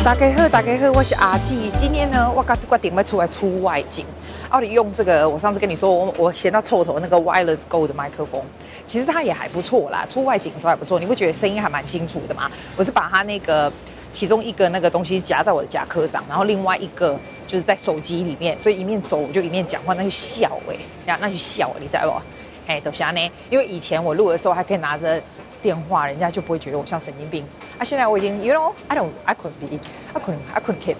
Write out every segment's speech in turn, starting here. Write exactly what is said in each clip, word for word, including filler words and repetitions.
大家好，大家好，我是阿紀。今天呢，我決定要出來出外景。奧利用這個，我上次跟你說，我我嫌到臭頭那個 Wireless Go 的麥克風，其實它也還不錯啦。出外景的時候還不錯，你會覺得聲音還蠻清楚的嘛。我是把它那個其中一個那個東西夾在我的夾克上，然後另外一個就是在手機裡面，所以一面走我就一面講話，那就笑哎、欸，那就笑、欸，你知道不？哎、欸，都是呢，因為以前我錄的時候還可以拿着電話，人家就不會覺得我像神經病啊。現在我已經 ，you know, I don't, I couldn't be, I couldn't, I couldn't keep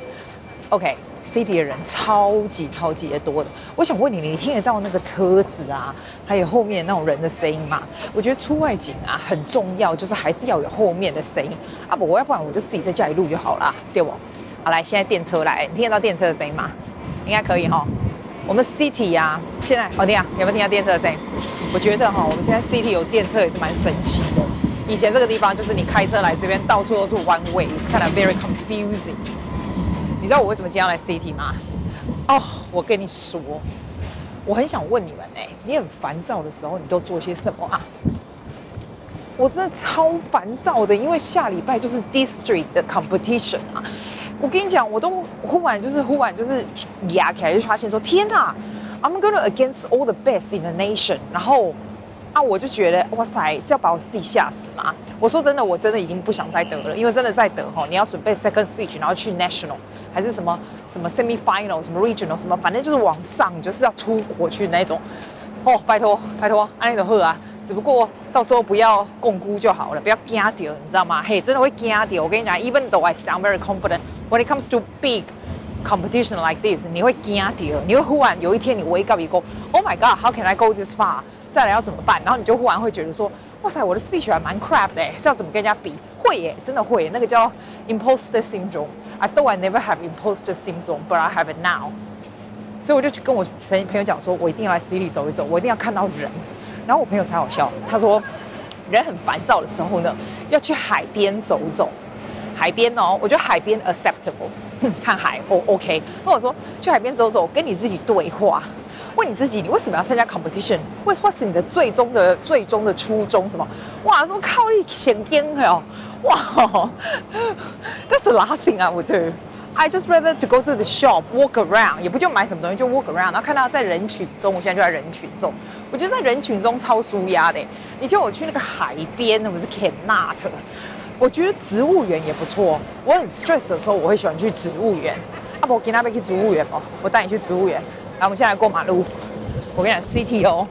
this. OK，City、okay, 的人超級超級的多的。我想問你，你聽得到那個車子啊，還有後面那種人的聲音嗎？我覺得出外景啊很重要，就是還是要有後面的聲音啊。不，我要不然我就自己在家裡錄就好了，對不？好，來，現在電車來，你聽得到電車的聲音嗎？應該可以哈。我們 City 啊，現在好聽啊，有沒有聽到電車的聲音？我覺得哈，我們現在 City 有電車也是蠻神奇的。以前這個地方就是你開車來這邊，到處都是 one way， it's kind of very confusing。你知道我為什麼今天要來 City 嗎？哦，我跟你說，我很想問你們哎、欸，你很煩躁的時候，你都做些什麼啊？我真的超煩躁的，因為下禮拜就是 District 的 competition 啊。我跟你講，我都忽然就是忽然就是壓起來，就發現說天哪 ，I'm gonna against all the best in the nation。然後啊，我就覺得哇塞，是要把我自己嚇死嗎？我說真的，我真的已經不想再得了，因為真的再得哈，你要準備 second speech， 然後去 national 還是什麼什麼 semi final， 什麼 regional 什麼，反正就是往上，你就是要出國去那種。哦，拜託拜託，安利的喝啊！只不過到時候不要共估就好了，不要驚到，你知道嗎？嘿，真的會驚到。我跟你講 ，even though I sound very confident, when it comes to big competition like this， 你會驚到，你會忽然有一天你 wake up 一個 ，Oh my God, how can I go this far？ 再來要怎麼辦？然後你就忽然會覺得說，哇塞，我的 speech 還蠻 crap 的，是要怎麼跟人家比？會耶，真的會耶，那個叫 imposter syndrome。I thought I never have imposter syndrome, but I have it now。所以我就去跟我朋友講說，我一定要來 City 走一走，我一定要看到人。然後我朋友才好笑，他說人很煩躁的時候呢，要去海邊走走。海邊哦，我覺得海邊 acceptable， 看海哦 OK。那我說去海邊走走，跟你自己對話，問你自己，你為什麼要參加 competition？ 或或是你的最終的最終的初衷什麼？哇，說靠你想驚哦，哇 ，That's the last thing I would do。I just rather to go to the shop, walk around， 也不就買什麼東西，就 walk around， 然後看到在人群中，我現在就在人群中，我覺得在人群中超舒壓的。你叫我去那個海邊，我是 cannot。我覺得植物園也不錯，我很 stress 的時候，我會喜歡去植物園。啊不，我今天要去植物園哦，我帶你去植物園。來，我們現在來過馬路。我跟你講 ，City 哦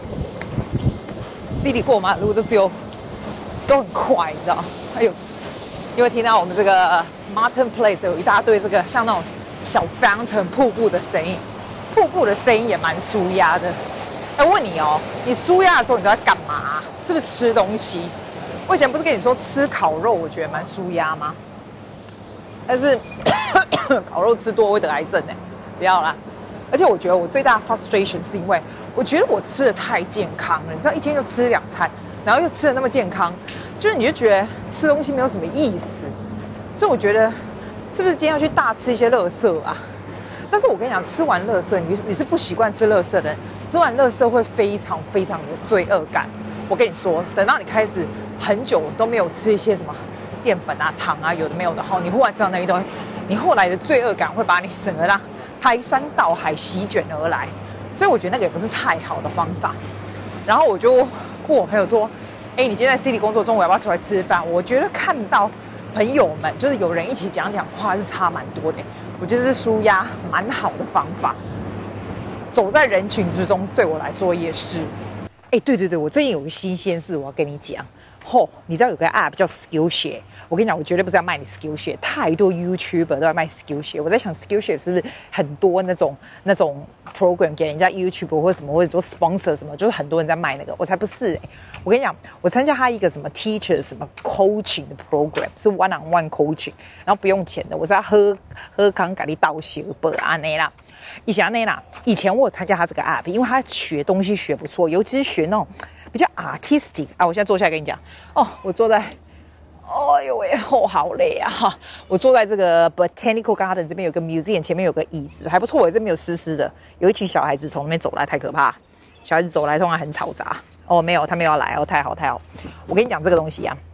，City 過馬路都只有都很快，你知道？還有。因為聽到我們這個 Martin Place 有一大堆這個像那種小 fountain 瀑布的聲音，瀑布的聲音也蠻舒壓的。哎，我問你哦，你舒壓的時候你都在幹嘛？是不是吃東西？我以前不是跟你說吃烤肉，我覺得蠻舒壓嗎？但是烤肉吃多會得癌症哎，不要啦。而且我覺得我最大的 frustration 是因為我覺得我吃的太健康了，你知道一天就吃兩餐，然後又吃的那麼健康。就是你就覺得吃東西沒有什麼意思，所以我覺得是不是今天要去大吃一些垃圾啊？但是我跟你講，吃完垃圾，你你是不習慣吃垃圾的人，吃完垃圾會非常非常有罪惡感。我跟你說，等到你開始很久都沒有吃一些什麼澱粉啊、糖啊，有的沒有的後，你忽然吃到那一堆，你後來的罪惡感會把你整個讓排山倒海席捲而來。所以我覺得那個也不是太好的方法。然後我就問我朋友說，哎，你今天在 City 工作，中午要不要出來吃飯？我覺得看到朋友們，就是有人一起講講話，是差蠻多的。我覺得是舒壓蠻好的方法。走在人群之中，對我來說也是。哎，對對對，我最近有個新鮮事，我要跟你講。吼、哦，你知道有個 app 叫 Skillshare？ 我跟你講，我絕對不是要賣你 Skillshare， 太多 YouTuber 都在賣 Skillshare。我在想 Skillshare 是不是很多那種那種 program 給人家 YouTuber 或者什麼，或者做 sponsor 什麼，就是很多人在賣那個。我才不是哎、欸！我跟你講，我參加他一個什麼 teacher 什麼 coaching 的 program， 是 one on one coaching， 然後不用錢的。我是要喝喝康咖喱倒血不安內啦，以前內啦，以前我有參加他這個 app， 因為他學東西學不錯，尤其是學那種比較 artistic 啊。我現在坐下來跟你講哦，我坐在。哎呦喂，哦，好累啊！哈，我坐在這個 Botanical Garden 這邊有個 museum， 前面有個椅子，還不錯。我這邊有濕濕的，有一群小孩子從那邊走來，太可怕。小孩子走來通常很嘈雜。哦，沒有，他沒有要來哦，太好太好。我跟你講這個東西啊，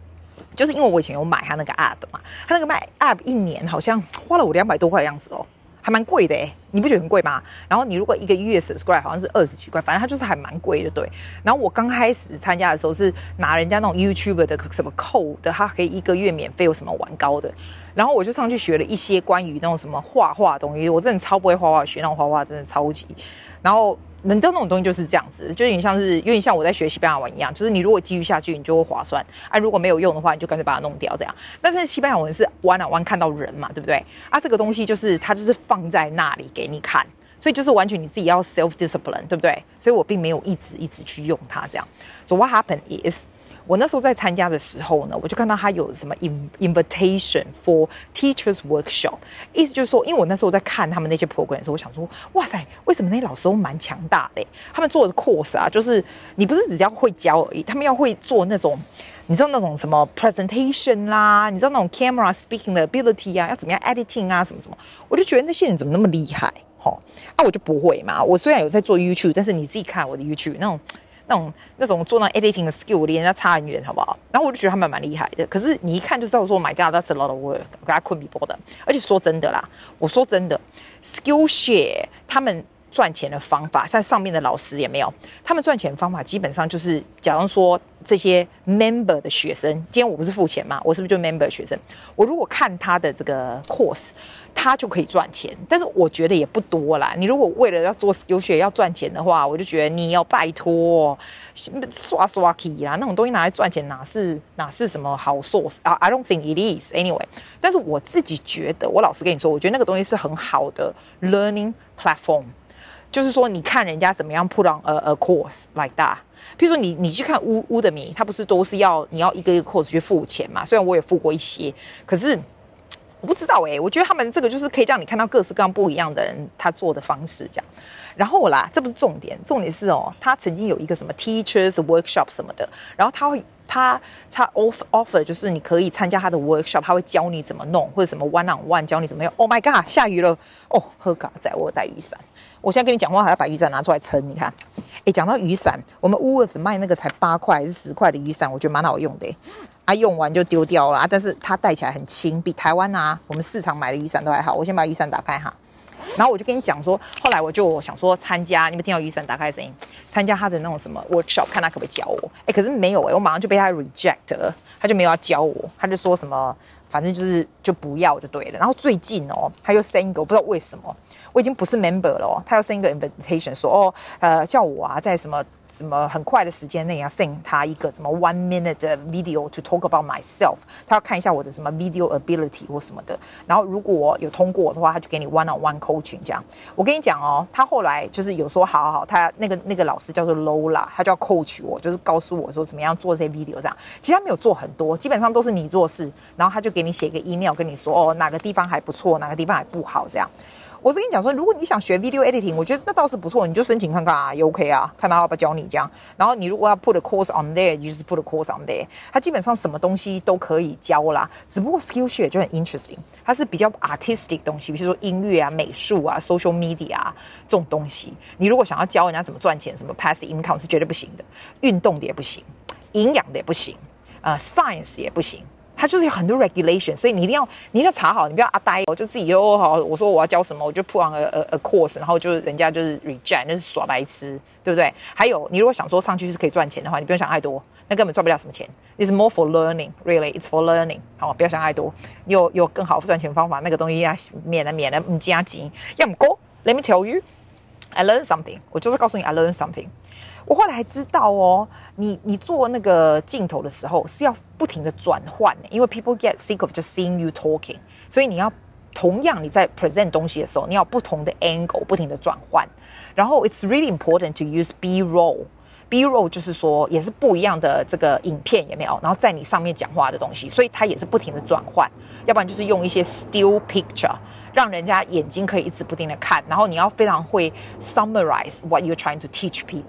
就是因為我以前有買他那個 app 嘛，他那個賣 app 一年好像花了我兩百多塊的樣子哦。還蠻貴的哎，你不覺得很貴嗎？然後你如果一個月 subscribe 好像是二十幾塊，反正它就是還蠻貴的，對。然後我剛開始參加的時候是拿人家那種 YouTuber 的什麼 code 的，它可以一個月免費有什麼玩高的，然後我就上去學了一些關於那種什麼畫畫的東西，我真的超不會畫畫，學那種畫畫真的超級，然後。能知道那種東西就是這樣子，就有點像是有點像我在學西班牙文一樣，就是你如果繼續下去，你就會划算啊；如果沒有用的話，你就乾脆把它弄掉這樣。但是西班牙文是 one on one 看到人嘛，對不對？啊，這個東西就是它就是放在那裡給你看，所以就是完全你自己要 self discipline， 對不對？所以我並沒有一直一直去用它這樣。So what happened is，我那時候在參加的時候呢，我就看到他有什麼 invitation for teachers workshop， 意思就是說，因為我那時候在看他們那些 program 的時候，我想說，哇塞，為什麼那些老師都蠻強大的？他們做的 course 啊，就是你不是只要會教而已，他們要會做那種，你知道那種什麼 presentation 啦，你知道那種 camera speaking 的 ability 啊，要怎麼樣 editing 啊，什麼什麼，我就覺得那些人怎麼那麼厲害？齁，啊，我就不會嘛。我雖然有在做 YouTube， 但是你自己看我的 YouTube 那種。那種那種做那 editing 的 skill 離人家差很遠，好不好？然後我就覺得他們蠻厲害的。可是你一看就知道說 ，My God，that's a lot of work， I couldn't be bothered。而且說真的啦，我說真的 ，Skillshare 他們賺錢的方法，像上面的老師也沒有，他們賺錢的方法基本上就是，假如說這些 member 的學生，今天我不是付錢嗎？我是不是就 member 的學生？我如果看他的這個 course。他就可以賺錢，但是我覺得也不多啦。你如果為了要做 Skillshare 要賺錢的話，我就覺得你要拜託刷刷 key 啦，那種東西拿來賺錢哪是哪是什麼好 source 啊 ？I don't think it is anyway。但是我自己覺得，我老實跟你說，我覺得那個東西是很好的 learning platform， 就是說你看人家怎麼樣 put on a, a course like that。譬如說你你去看 Udemy， 它不是都是要你要一個一個 course 去付錢嘛？雖然我也付過一些，可是。我不知道哎、欸，我覺得他們這個就是可以讓你看到各式各樣不一樣的人他做的方式這樣。然後啦，這不是重點，重點是哦，他曾經有一個什麼 teachers workshop 什麼的，然後他會他他 offer offer 就是你可以參加他的 workshop， 他會教你怎麼弄，或者什麼 one on one 教你怎麼用。Oh my god， 下雨了哦，喝咖仔，我有帶雨傘。我現在跟你講話還要把雨傘拿出來撐，你看。哎，講到雨傘，我們 Woolworths 賣那個才八塊還是十塊的雨傘，我覺得蠻好用的。啊，用完就丟掉了啊，但是它戴起來很輕，比台灣啊我們市場買的雨傘都還好。我先把雨傘打開哈，然後我就跟你講說，後來我就想說參加，你們聽到雨傘打開的聲音，參加他的那種什麼 workshop， 看他可不可以教我。哎，可是沒有哎，我馬上就被他 reject 了，他就沒有要教我，他就說什麼，反正就是就不要就對了。然後最近哦，他又 send 一個，我不知道為什麼。我已經不是 member 了哦，他要 send 一個 invitation 說哦，呃，叫我啊，在什麼什麼很快的時間內要 send 他一個什麼 one minute 的 video to talk about myself， 他要看一下我的什麼 video ability 或什麼的，然後如果有通過的話，他就給你 one on one coaching 這樣。我跟你講哦，他後來就是有說好好好，他那個那個老師叫做 Lola， 他就要 coach 我，就是告訴我說怎麼樣做這些 video 這樣。其實他沒有做很多，基本上都是你做事，然後他就給你寫一個 email 跟你說哦，哪個地方還不錯，哪個地方還不好這樣。我是跟你講說，如果你想學 video editing， 我覺得那倒是不錯，你就申請看看啊，也 OK 啊，看他要不要教你這樣。然後你如果要 put a course on there， 你就是 put a course on there。它基本上什麼東西都可以教啦，只不過 Skillshare 就很 interesting， 它是比較 artistic 東西，比如說音樂啊、美術啊、social media 啊這種東西。你如果想要教人家怎麼賺錢，什麼 passive income 是絕對不行的，運動的也不行，營養的也不行，呃 ，science 也不行。它就是有很多 regulation， 所以你一定要你一定要查好，你不要阿呆，我就自己就好。我說我要教什麼，我就 put on a, a, a course， 然後就人家就是 reject， 那是耍白痴，對不對？還有，你如果想說上去是可以賺錢的話，你不用想太多，那根本賺不了什麼錢。It's more for learning, really, it's for learning。好，不要想太多，有有更好賺錢方法，那個東西要免了免了，唔加錢。要唔過 ，Let me tell you, I learned something。我就是告訴你 ，I learned something。我後來還知道哦，你你做那個鏡頭的時候是要不停的轉換，因為 people get sick of just seeing you talking， 所以你要同樣你在 present 東西的時候，你要有不同的 angle， 不停的轉換。然後 it's really important to use B-roll。B-roll 就是說也是不一樣的這個影片有沒有？然後在你上面講話的東西，所以它也是不停的轉換。要不然就是用一些 still picture， 讓人家眼睛可以一直不停的看，然後你要非常會 summarize what you're trying to teach people。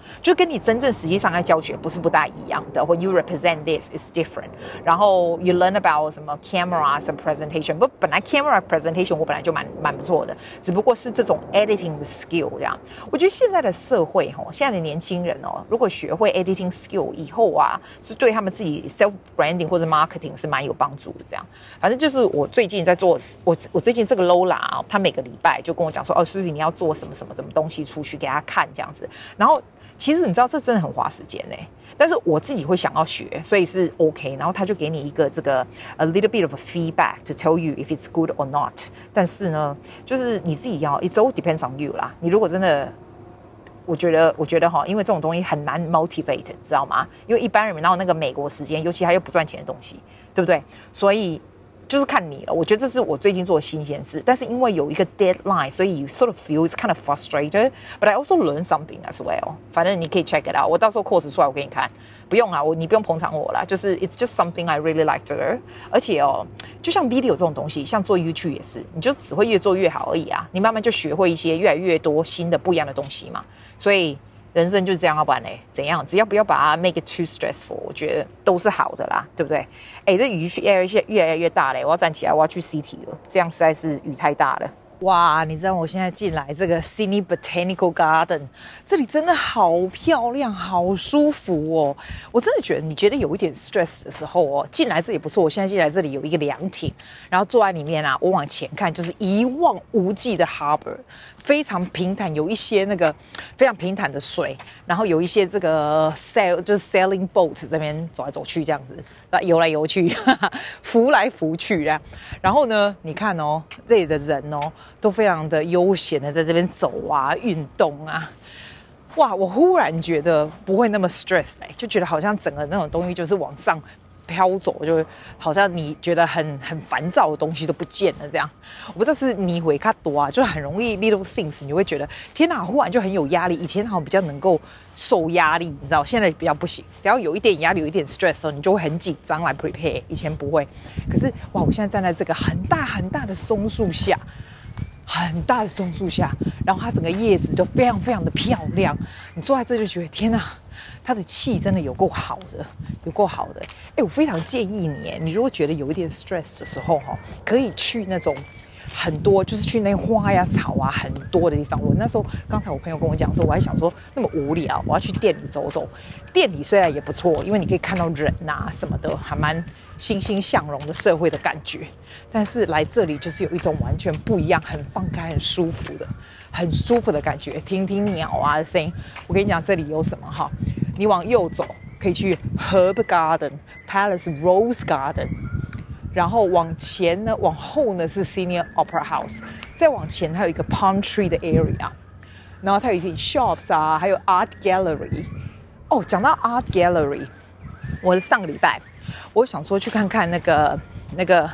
就跟你真正實際上在教學不是不大一樣的。When you represent this is different。然後 you learn about 什麼 cameras and presentation， 不，本來 camera presentation 我本來就蠻蠻不錯的，只不過是這種 editing 的 skill 這樣。我覺得現在的社會哈，現在的年輕人哦，如果學會 editing skill 以後啊，是對他們自己 self branding 或者 marketing 是蠻有幫助的。這樣，反正就是我最近在做，我我最近這個 Lola 啊，他每個禮拜就跟我講說，哦 ，Suzy 你要做什麼什麼什麼東西出去給他看這樣子。然後其實你知道這真的很花時間嘞，但是我自己會想要學，所以是 OK。然後他就給你一個這個 a little bit of a feedback to tell you if it's good or not。但是呢，就是你自己要 ，it's all depends on you 啦。你如果真的，我覺得，我覺得哈，因為這種東西很難 motivate，你知道嗎？因為一般人哪有那個美國時間，尤其他又不賺錢的東西，對不對？所以。就是看你了，我覺得這是我最近做的新鮮事，但是因為有一個 deadline， 所以 you sort of feel it's kind of frustrated, but I also learn something as well。反正你可以 check it out， 我到時候 course 出來我給你看，不用啊，我你不用捧場我啦，就是 it's just something I really like to learn。而且哦，就像 video 這種東西，像做 YouTube 也是，你就只會越做越好而已啊，你慢慢就學會一些越來越多新的不一樣的東西嘛，所以。人生就是這樣，要不然嘞怎樣？只要不要把它 make it too stressful， 我覺得都是好的啦，對不對？哎，這雨越來越越來越大嘞，我要站起來，我要去 City 了，這樣實在是雨太大了。哇，你知道我現在進來這個 Sydney Botanical Garden， 這裡真的好漂亮，好舒服哦！我真的覺得，你覺得有一點 stress 的時候哦，進來這裡不錯。我現在進來這裡有一個涼亭，然後坐在裡面啊，我往前看就是一望無際的 Harbour， 非常平坦，有一些那個非常平坦的水，然後有一些這個 sail 就是 sailing boat 這邊走來走去這樣子，游來游去，哈哈，浮來浮去啊。然後呢，你看哦，這裡的人哦。都非常的悠閒的在這邊走啊，運動啊，哇！我忽然覺得不會那麼 stress 哎，就覺得好像整個那種東西就是往上飄走，就好像你覺得很很煩躁的東西都不見了這樣。我不知道是你會看多啊，就很容易 little things， 你會覺得天哪，忽然就很有壓力。以前好像比較能夠受壓力，你知道，現在比較不行。只要有一點壓力，有一點 stress 的時候，你就會很緊張來 prepare。以前不會，可是哇，我現在站在這個很大很大的松樹下。很大的松樹下，然後它整個葉子就非常非常的漂亮。你坐在這就覺得天哪，它的氣真的有夠好的，有夠好的。哎，我非常建議你，你如果覺得有一點 stress 的時候，哈，可以去那種很多，就是去那花呀、草啊很多的地方。我那時候剛才我朋友跟我講說，我還想說那麼無聊，我要去店裡走走。店裡雖然也不錯，因為你可以看到人啊什麼的，還蠻欣欣向榮的社會的感覺。但是來這裡就是有一種完全不一樣，很放開、很舒服的、很舒服的感覺。聽聽鳥啊的聲音。我跟你講，這裡有什麼哈？你往右走可以去 Herb Garden、Palace Rose Garden， 然後往前呢，往後呢是 Sydney Opera House， 再往前還有一個 Palm Tree 的 area， 然後它有一點 shops 啊，還有 Art Gallery。哦，講到 Art Gallery， 我上個禮拜我想說去看看那個那個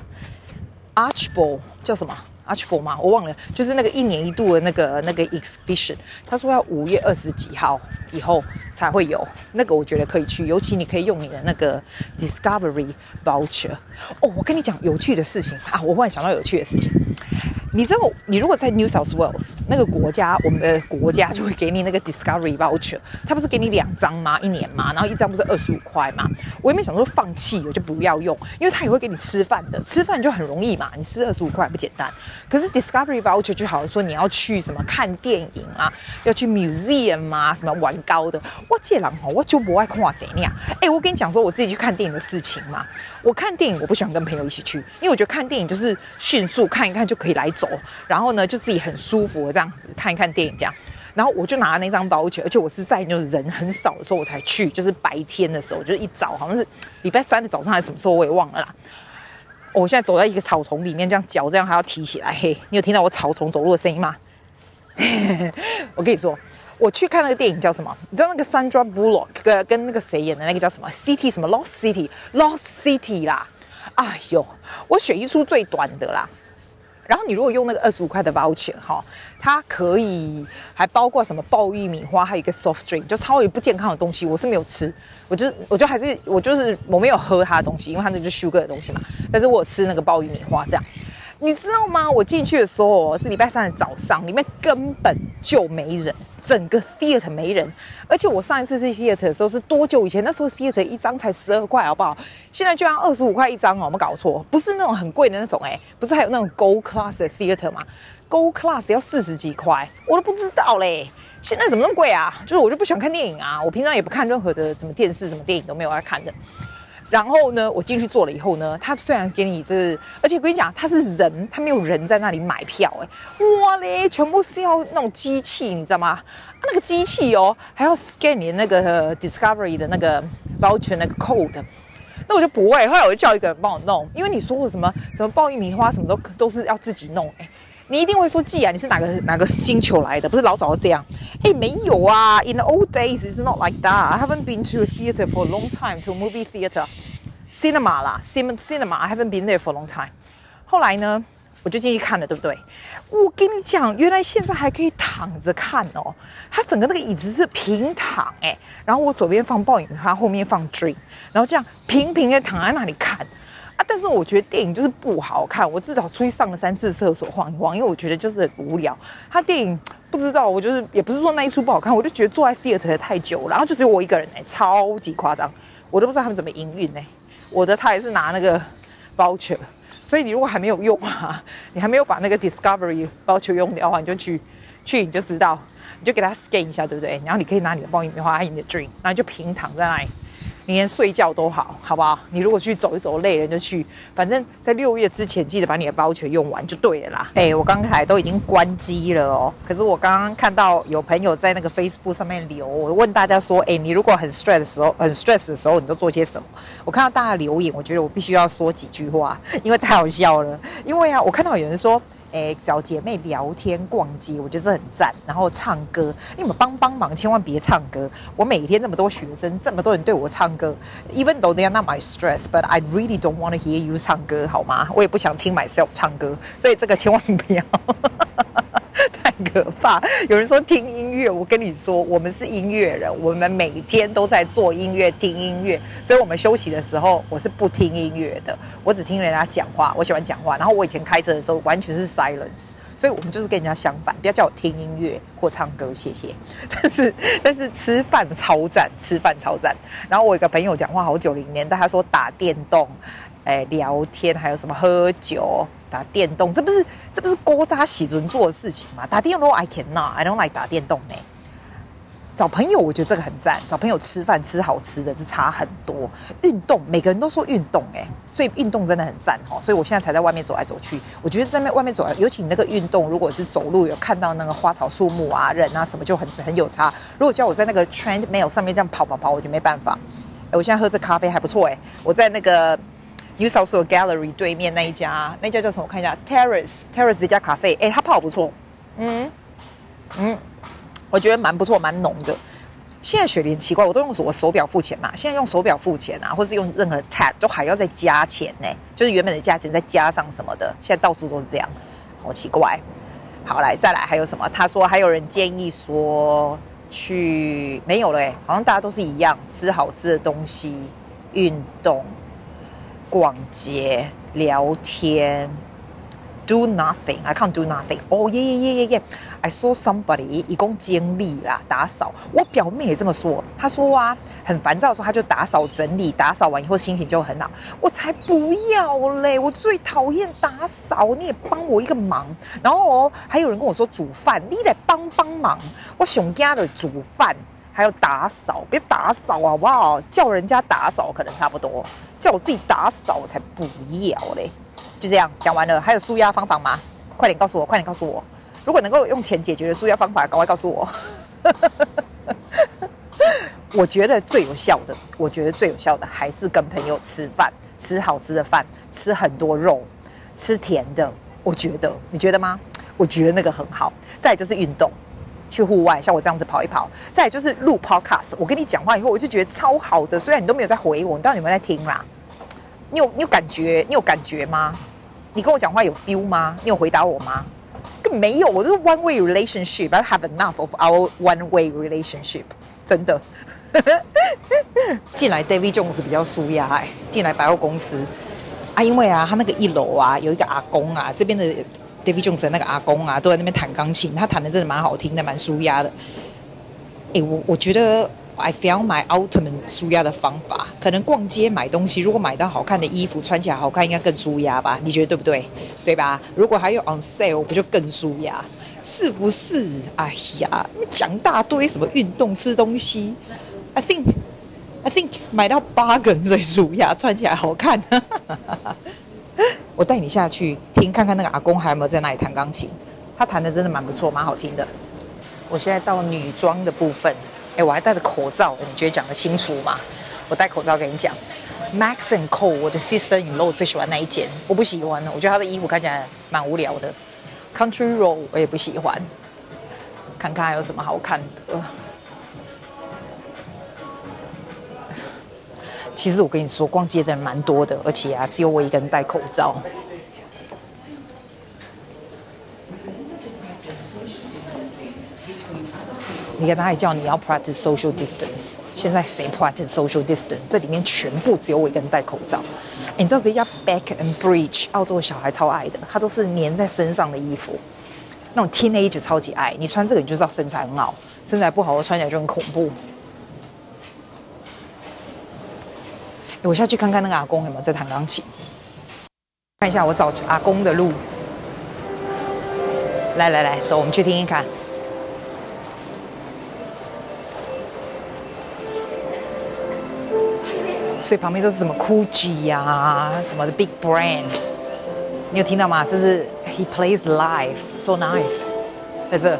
Archibald 叫什麼 Archibald 嗎？我忘了，就是那個一年一度的那個那個 exhibition。他說要五月二十幾號以後才會有，那個我覺得可以去，尤其你可以用你的那個 Discovery voucher。哦，我跟你講有趣的事情啊，我忽然想到有趣的事情。你知道，你如果在 New South Wales 那個國家，我們的國家就會給你那個 Discovery voucher， 它不是給你兩張嗎？一年嘛，然後一張不是二十五塊嗎？我也沒想說放棄，我就不要用，因為它也會給你吃飯的，吃飯就很容易嘛，你吃二十五塊不簡單。可是 Discovery voucher 就好像說你要去什麼看電影啊，要去 museum 啊，什麼玩高的，我這人吼我就不愛看電影。哎，我跟你講說我自己去看電影的事情嘛，我看電影我不喜歡跟朋友一起去，因為我覺得看電影就是迅速看一看就可以來走。然後呢，就自己很舒服的這樣子看一看電影這樣，然後我就拿了那張voucher，而且我是在就是人很少的時候我才去，就是白天的時候，就是一早好像是禮拜三的早上還是什麼時候我也忘了啦。哦，我現在走在一個草叢裡面，這樣腳這樣還要提起來，嘿，你有聽到我草叢走路的聲音嗎？我跟你說，我去看那個電影叫什麼？你知道那個 Sandra Bullock 跟跟那個誰演的那個叫什麼 City 什麼 Lost City Lost City 啦？哎呦，我選一出最短的啦。然後你如果用那個二十五塊的 voucher 哈，它可以還包括什麼爆玉米花，還有一個 soft drink， 就超級不健康的東西，我是沒有吃，我就我就還是我就是我沒有喝它的東西，因為它那就是 sugar 的東西嘛。但是我有吃那個爆玉米花這樣。 你知道嗎？我進去的時候是禮拜三的早上，裡面根本就沒人，整個 theater 沒人。而且我上一次去 theater 的時候是多久以前？那時候 theater 一張才十二塊，好不好？現在居然二十五塊一張哦，我們搞錯，不是那種很貴的那種哎、欸，不是還有那種 Gold Class 的 theater 嗎？ Gold Class 要四十幾塊，我都不知道嘞。現在怎麼那麼貴啊？就是我就不喜歡看電影啊，我平常也不看任何的什麼電視、什麼電影都沒有在看的。然後呢，我進去坐了以後呢，他雖然給你就是，而且我跟你講，他是人，他沒有人在那裡買票、欸，哎，哇嘞，全部是要那種機器，你知道嗎？啊、那個機器哦，還要 scan 你的那個 Discovery 的那個 voucher 那個 code， 那我就不會，後來我就叫一個人幫我弄，因為你說我什麼什麼爆玉米花什麼都都是要自己弄，哎、欸。你一定會說，既然你是哪個哪個星球來的？不是老早都這樣？哎，沒有啊 ！In the old days, it's not like that. I haven't been to a theater for a long time, to a movie theater, cinema 啦 ，cinema. I haven't been there for a long time. 後來呢，我就進去看了，對不對？我跟你講，原來現在還可以躺着看哦。它整個那個椅子是平躺哎，然後我左邊放爆米花，後面放 drink， 然後這樣平平的躺在那裡看。啊！但是我覺得電影就是不好看，我至少出去上了三次廁所晃一晃，因為我覺得就是很無聊。他電影不知道，我就是也不是說那一出不好看，我就覺得坐在 theater 太久了，然後就只有我一個人哎、欸，超級誇張，我都不知道他們怎麼營運哎。我的他也是拿那個 voucher， 所以你如果還沒有用啊，你還沒有把那個 Discovery voucher 用掉的話，你就去去你就知道，你就給他 scan 一下，對不對？然後你可以拿你的爆米花和你的 drink， 然後就平躺在那裡。你連睡覺都好，好不好？你如果去走一走累了就去，反正在六月之前記得把你的voucher用完就對了啦。哎、欸，我剛才都已經關機了哦，可是我剛剛看到有朋友在那個 Facebook 上面留，我問大家說，哎、欸，你如果很 stress 的時候，很 stress 的時候，你都做些什麼？我看到大家留言，我覺得我必須要說幾句話，因為太好笑了。因為啊，我看到有人說，哎，找姐妹聊天、逛街，我覺得這很讚。然後唱歌，你們幫幫忙，千萬別唱歌。我每天這麼多學生，這麼多人對我唱歌 ，even though they are not my stress, but I really don't want to hear you 唱歌，好嗎？我也不想聽 myself 唱歌，所以這個千萬不要。太可怕！有人說聽音樂，我跟你說，我們是音樂人，我們每天都在做音樂、聽音樂，所以我們休息的時候，我是不聽音樂的，我只聽人家講話，我喜歡講話。然後我以前開車的時候，完全是 silence， 所以我們就是跟人家相反，不要叫我聽音樂或唱歌，謝謝。但是但是吃飯超讚，吃飯超讚。然後我有個朋友講話好九零年代，他說打電動。哎，聊天還有什麼喝酒、打電動，這不是這不是古早時陣做的事情嗎？打電動 I cannot, I don't like 打電動呢。找朋友我覺得這個很讚，找朋友吃飯吃好吃的是差很多。運動每個人都說運動哎，所以運動真的很讚哈。所以我現在才在外面走來走去。我覺得在外面走來，尤其你那個運動，如果是走路有看到那個花草樹木啊、人啊什麼，就很很有差。如果叫我在那個 treadmill 上面這樣跑跑跑，我就沒辦法。我現在喝這咖啡還不錯哎，我在那個。New South Wales Gallery 對面那一家，那一家叫什麼？我看一下 ，Terrace Terrace 這家咖啡，哎，它泡不錯，嗯嗯，我覺得蠻不錯，蠻濃的。現在雪梨奇怪，我都用我手錶付錢嘛，現在用手錶付錢啊，或是用任何 tap 都還要再加錢呢，就是原本的價錢再加上什麼的，現在到處都是這樣，好奇怪。好，來再來還有什麼？他說還有人建議說去沒有了，哎，好像大家都是一樣，吃好吃的東西，運動。逛街、聊天 ，do nothing. I can't do nothing. Oh yeah yeah yeah yeah yeah. I saw somebody 一共經理啦，打掃。我表妹也這麼說，她說啊，很煩躁的時候，她就打掃整理，打掃完以後心情就很好。我才不要嘞！我最討厭打掃，你也幫我一個忙。然後哦，還有人跟我說煮飯，你來幫幫忙。我想家的煮飯。還有打掃，別打掃好不好？叫人家打掃可能差不多，叫我自己打掃我才不要嘞！就這樣講完了，還有紓壓方法嗎？快點告訴我，快點告訴我！如果能夠用錢解決的紓壓方法，趕快告訴我。我覺得最有效的，我覺得最有效的還是跟朋友吃飯，吃好吃的飯，吃很多肉，吃甜的。我覺得，你覺得嗎？我覺得那個很好。再來就是運動。去戶外，像我這樣子跑一跑，再來就是錄 podcast。我跟你講話以後，我就覺得超好的。雖然你都沒有在回我，你到底有沒有在聽啦？你有你有感覺？你有感覺嗎？你跟我講話有 feel 嗎？你有回答我嗎？根本沒有，我就是 one way relationship。I have enough of our one way relationship。真的。進來 David Jones 比較舒壓哎，進來百貨公司啊，因為啊，他那個一樓啊有一個阿公啊，這邊的 David Jones 那個阿公啊，都在那邊彈鋼琴，他彈的真的蠻好聽的，蠻舒壓的。哎，我我覺得 I found my ultimate 舒壓的方法，可能逛街買東西，如果買到好看的衣服，穿起來好看，應該更舒壓吧？你覺得對不對？對吧？如果還有 on sale，不就更舒壓？是不是？哎呀，講大堆什麼運動、吃東西 ，I think I think 買到 bargain 最舒壓，穿起來好看。我帶你下去聽看看那個阿公還有沒有在那裡彈鋼琴，他彈的真的蠻不錯，蠻好聽的。我現在到女裝的部分，哎，我還戴着口罩，你覺得講得清楚嗎？我戴口罩跟你講 ，Max and Co， 我的 sister-in-law 最喜歡那一件，我不喜歡，我覺得他的衣服看起來蠻無聊的。Country Road 我也不喜歡，看看還有什麼好看的。其實我跟你說，逛街的人蠻多的，而且啊，只有我一個人戴口罩。你看他还叫你要 practice social distance， 现在谁 practice social distance？ 这里面全部只有我一个人戴口罩。你知道这家 Back and Bridge 澳洲小孩超愛的，它都是粘在身上的衣服，那種 teenager 超級愛。你穿這個你就知道身材很好，身材不好我穿起來就很恐怖。我下去看看那個阿公有沒有在彈鋼琴，看一下我找阿公的路。來來來，走，我們去聽聽看。所以旁邊都是什麼 Gucci 呀、啊，什麼的 Big Brand， 你有聽到嗎？這是 He plays live, so nice， 在這。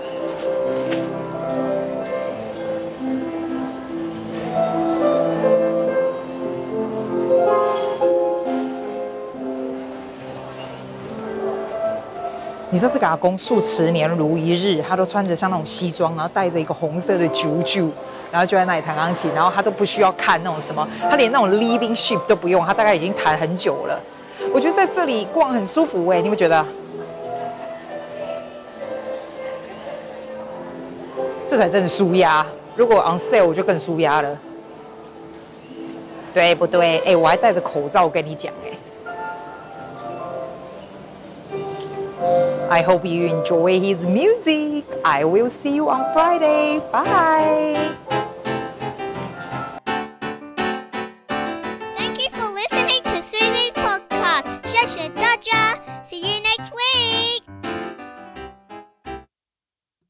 你知道這個阿公數十年如一日，他都穿着像那種西裝，然後戴着一個紅色的啾啾，然後就在那裡彈鋼琴，然後他都不需要看那種什麼，他連那種 leading ship 都不用，他大概已經彈很久了。我覺得在這裡逛很舒服哎，你們覺得？這才真的舒壓。如果 on sale 我就更舒壓了，對不對？哎，我還戴着口罩跟你講哎。I hope you enjoy his music. I will see you on Friday. Bye.